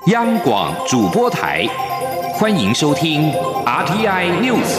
央广主播台，欢迎收听 RTI News。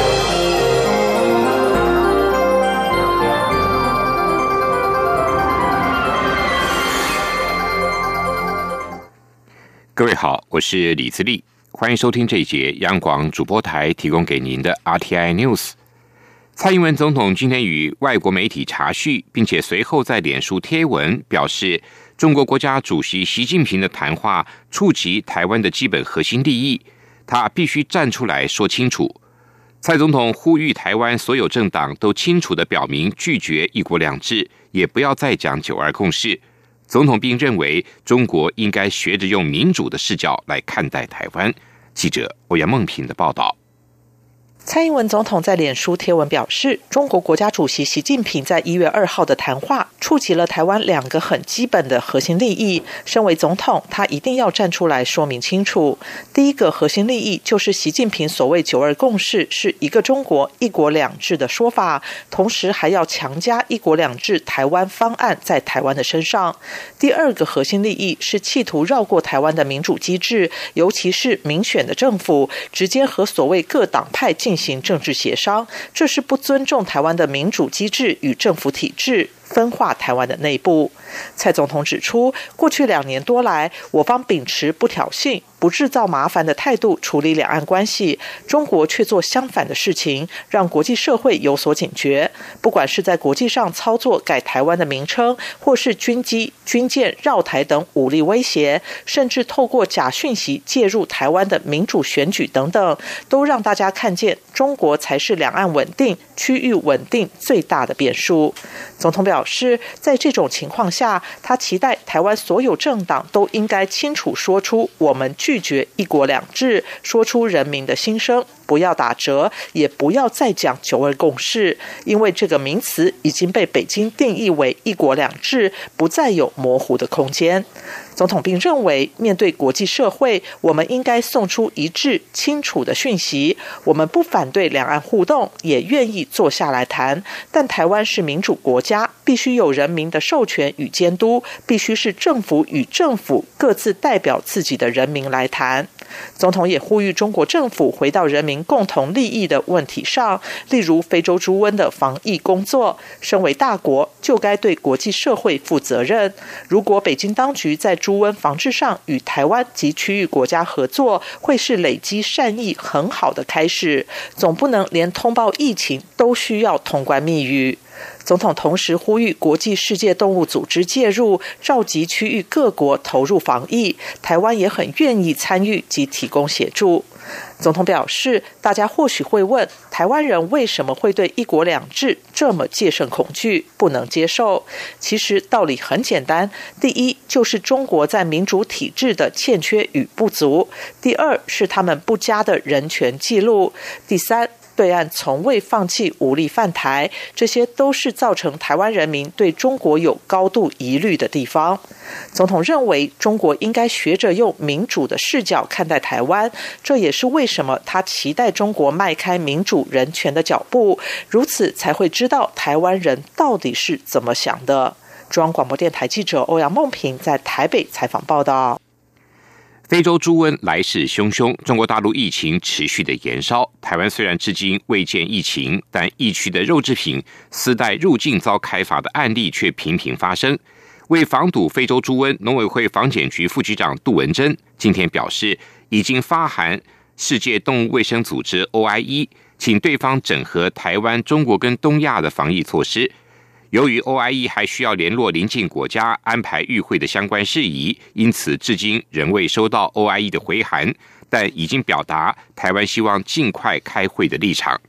各位好，我是李自立，欢迎收听这一节央广主播台提供给您的 RTI News。蔡英文总统今天与外国媒体查叙，并且随后在脸书贴文表示，中国国家主席习近平的谈话触及台湾的基本核心利益，他必须站出来说清楚。蔡总统呼吁台湾所有政党都清楚地表明拒绝一国两制，也不要再讲九二共识。总统并认为，中国应该学着用民主的视角来看待台湾。记者欧阳梦平的报道。 蔡英文总统在脸书贴文表示，中国国家主席习近平在1月2号的谈话触及了台湾两个很基本的核心利益，身为总统，他一定要站出来说明清楚。第一个核心利益就是习近平所谓九二共识是一个中国一国两制的说法，同时还要强加一国两制台湾方案在台湾的身上。第二个核心利益是企图绕过台湾的民主机制，尤其是民选的政府，直接和所谓各党派进行政治协商，这是不尊重台湾的民主机制与政府体制，分化台湾的内部。蔡总统指出，过去2年多来，我方秉持不挑衅、不制造麻烦的态度处理两岸关系，中国却做相反的事情，让国际社会有所警觉。不管是在国际上操作改台湾的名称，或是军机、军舰绕台等武力威胁，甚至透过假讯息介入台湾的民主选举等等，都让大家看见中国才是两岸稳定、区域稳定最大的变数。总统表示，在这种情况下，他期待台湾所有政党都应该清楚说出我们拒绝一国两制，说出人民的心声，不要打折，也不要再讲九二共识，因为这个名词已经被北京定义为一国两制，不再有模糊的空间。总统并认为，面对国际社会，我们应该送出一致清楚的讯息，我们不反对两岸互动，也愿意坐下来谈，但台湾是民主国家，必须有人民的授权与监督，必须是政府与政府各自代表自己的人民来谈。总统也呼吁中国政府回到人民共同利益的问题上，例如非洲猪瘟的防疫工作，身为大国就该对国际社会负责任。如果北京当局在猪瘟防治上与台湾及区域国家合作，会是累积善意很好的开始，总不能连通报疫情都需要通关密语。总统同时呼吁国际世界动物组织介入，召集区域各国投入防疫，台湾也很愿意参与及提供协助。总统表示，大家或许会问，台湾人为什么会对一国两制这么戒慎恐惧，不能接受？其实道理很简单，第一就是中国在民主体制的欠缺与不足，第二是他们不佳的人权记录，第三对岸从未放弃武力犯台，这些都是造成台湾人民对中国有高度疑虑的地方。总统认为，中国应该学着用民主的视角看待台湾，这也是为什么他期待中国迈开民主人权的脚步，如此才会知道台湾人到底是怎么想的。中央广播电台记者欧阳梦平在台北采访报道。 非洲猪瘟来势汹汹，中国大陆疫情持续的延烧。台湾虽然至今未见疫情，但疫区的肉制品私带入境遭开罚的案例却频频发生。为防堵非洲猪瘟，农委会防检局副局长杜文珍今天表示，已经发函世界动物卫生组织 OIE， 请对方整合台湾、中国跟东亚的防疫措施。由于 OIE 还需要联络邻近国家安排与会的相关事宜，因此至今仍未收到 OIE 的回函，但已经表达台湾希望尽快开会的立场。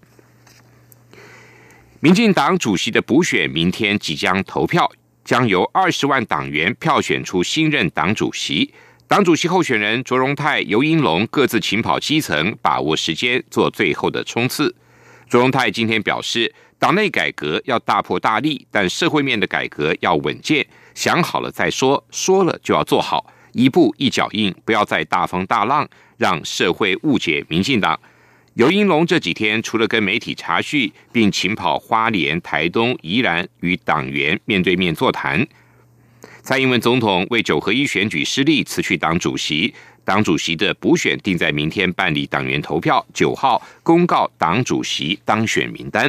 民进党主席的补选明天即将投票，将由20万党员票选出新任党主席。党主席候选人卓荣泰、游盈隆各自勤跑基层，把握时间做最后的冲刺。卓荣泰今天表示，党内改革要大破大立，但社会面的改革要稳健，想好了再说，说了就要做好，一步一脚印，不要再大风大浪，让社会误解民进党。游盈隆这几天除了跟媒体查叙，并勤跑花莲、台东、宜兰与党员面对面座谈。 蔡英文总统为9合1选举失利辞去党主席，党主席的补选定在明天办理党员投票，9号公告党主席当选名单。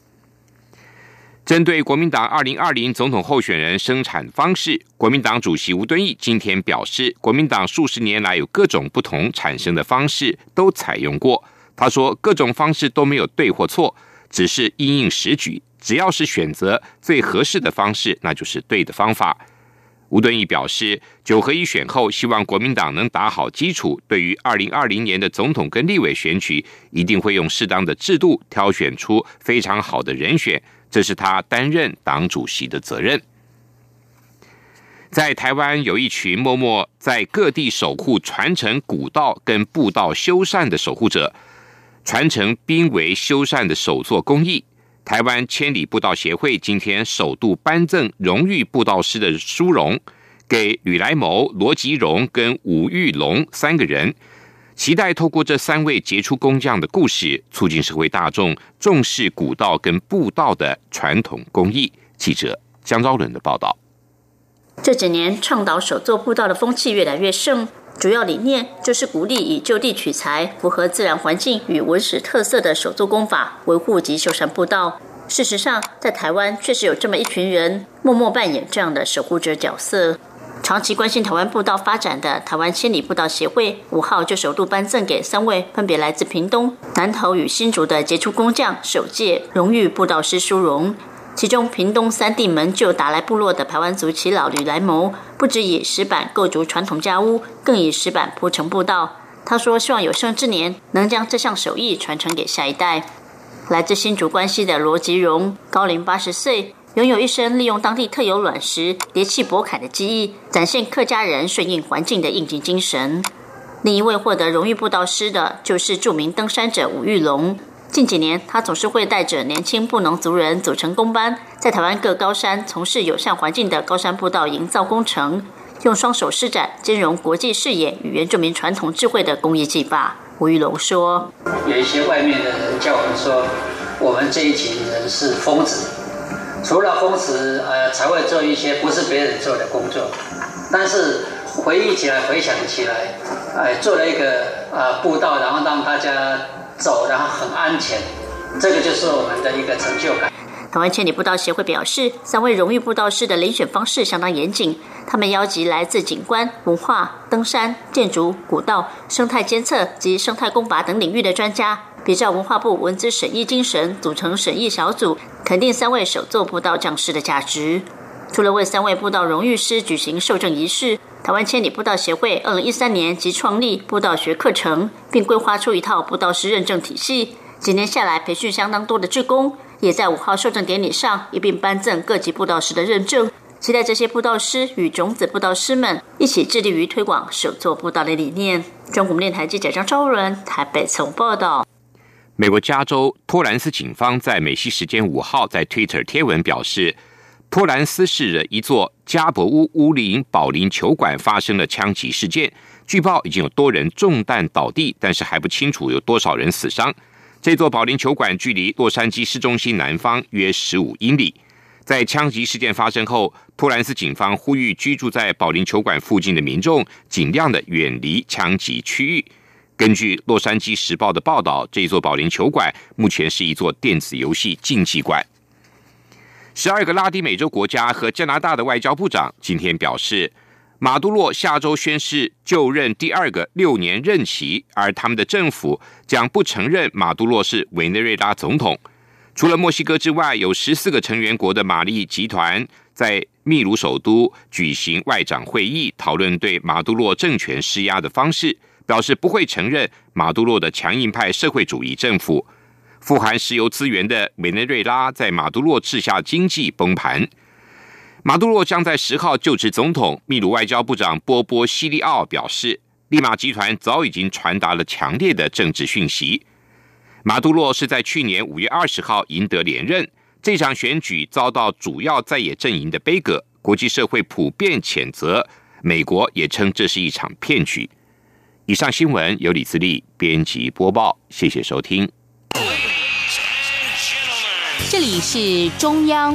针对国民党2020总统候选人生产方式，国民党主席吴敦义今天表示，国民党数十年来有各种不同产生的方式都采用过。他说，各种方式都没有对或错，只是因应时局，只要是选择最合适的方式，那就是对的方法。吴敦义表示，9合1选后，希望国民党能打好基础，对于2020年的总统跟立委选举，一定会用适当的制度挑选出非常好的人选，这是他担任党主席的责任。在台湾有一群默默在各地守护传承古道跟步道修缮的守护者，传承濒危修缮的手作工艺。台湾千里步道协会今天首度颁赠荣誉步道师的殊荣给吕来谋、罗吉荣跟吴玉龙3个人，期待透过这3位杰出工匠的故事，促进社会大众重视古道跟步道的传统工艺。记者江昭伦的报道。 这几年倡导手作步道的风气越来越盛，主要理念就是鼓励以就地取材、符合自然环境与文史特色的手作工法维护及修缮步道。事实上，在台湾确实有这么一群人默默扮演这样的守护者角色。长期关心台湾步道发展的台湾千里步道协会5号就首度颁赠给3位分别来自屏东、南投与新竹的杰出工匠首届荣誉步道师殊荣。其中屏东3地门就达来部落的排湾族耆老吕来谋，不只以石板构筑传统家屋，更以石板铺成步道。他说希望有生之年能将这项手艺传承给下一代。来自新竹关西的罗吉荣，高龄80岁，拥有一身利用当地特有卵石叠砌驳坎的技艺，展现客家人顺应环境的应急精神。另一位获得荣誉步道师的就是著名登山者吴玉龙。近几年，他总是会带着年轻布农族人组成工班，在台湾各高山从事友善环境的高山步道营造工程，用双手施展兼容国际视野与原住民传统智慧的工艺技法。吴玉龙说：“ 有一些外面的人叫我们说，我们这一群人是疯子，除了疯子，才会做一些不是别人做的工作。但是回忆起来、回想起来，做了一个步道，然后让大家走，然后很安全，这个就是我们的一个成就感。” 台湾千里步道协会表示，3位荣誉步道师的遴选方式相当严谨，他们邀集来自景观、文化、登山、建筑、古道、生态监测及生态工法等领域的专家，比照文化部文资审议精神，组成审议小组，肯定3位手作步道匠师的价值。除了为3位步道荣誉师举行授证仪式，台湾千里步道协会2013年即创立步道学课程，并规划出一套步道师认证体系。几年下来，培训相当多的志工，也在5号授证典礼上一并颁赠各级步道师的认证。期待这些步道师与种子步道师们一起致力于推广手作步道的理念。中国电台记者张昭伦台北从报道。 美国加州托兰斯警方在美西时间5号在 Twitter 贴文表示，托兰斯市的一座加伯屋屋林保龄球馆发生了枪击事件，据报已经有多人中弹倒地，但是还不清楚有多少人死伤。这座保龄球馆距离洛杉矶市中心南方约15英里。在枪击事件发生后，托兰斯警方呼吁居住在保龄球馆附近的民众尽量的远离枪击区域。根据洛杉矶时报的报道，这座保龄球馆目前是一座电子游戏竞技馆。12个拉丁美洲国家和加拿大的外交部长今天表示，马杜洛下周宣誓就任第2个6年任期，而他们的政府将不承认马杜洛是委内瑞拉总统。除了墨西哥之外，有14个成员国的马利集团在秘鲁首都举行外长会议，讨论对马杜洛政权施压的方式，表示不会承认马杜洛的强硬派社会主义政府。富含石油资源的委内瑞拉在马杜洛治下经济崩盘。马杜洛将在10号就职总统。秘鲁外交部长波波西利奥表示，利马集团早已经传达了强烈的政治讯息。马杜洛是在去年5月20号赢得连任，这场选举遭到主要在野阵营的杯葛，国际社会普遍谴责，美国也称这是一场骗局。以上新闻由李自力编辑播报，谢谢收听。 这里是中央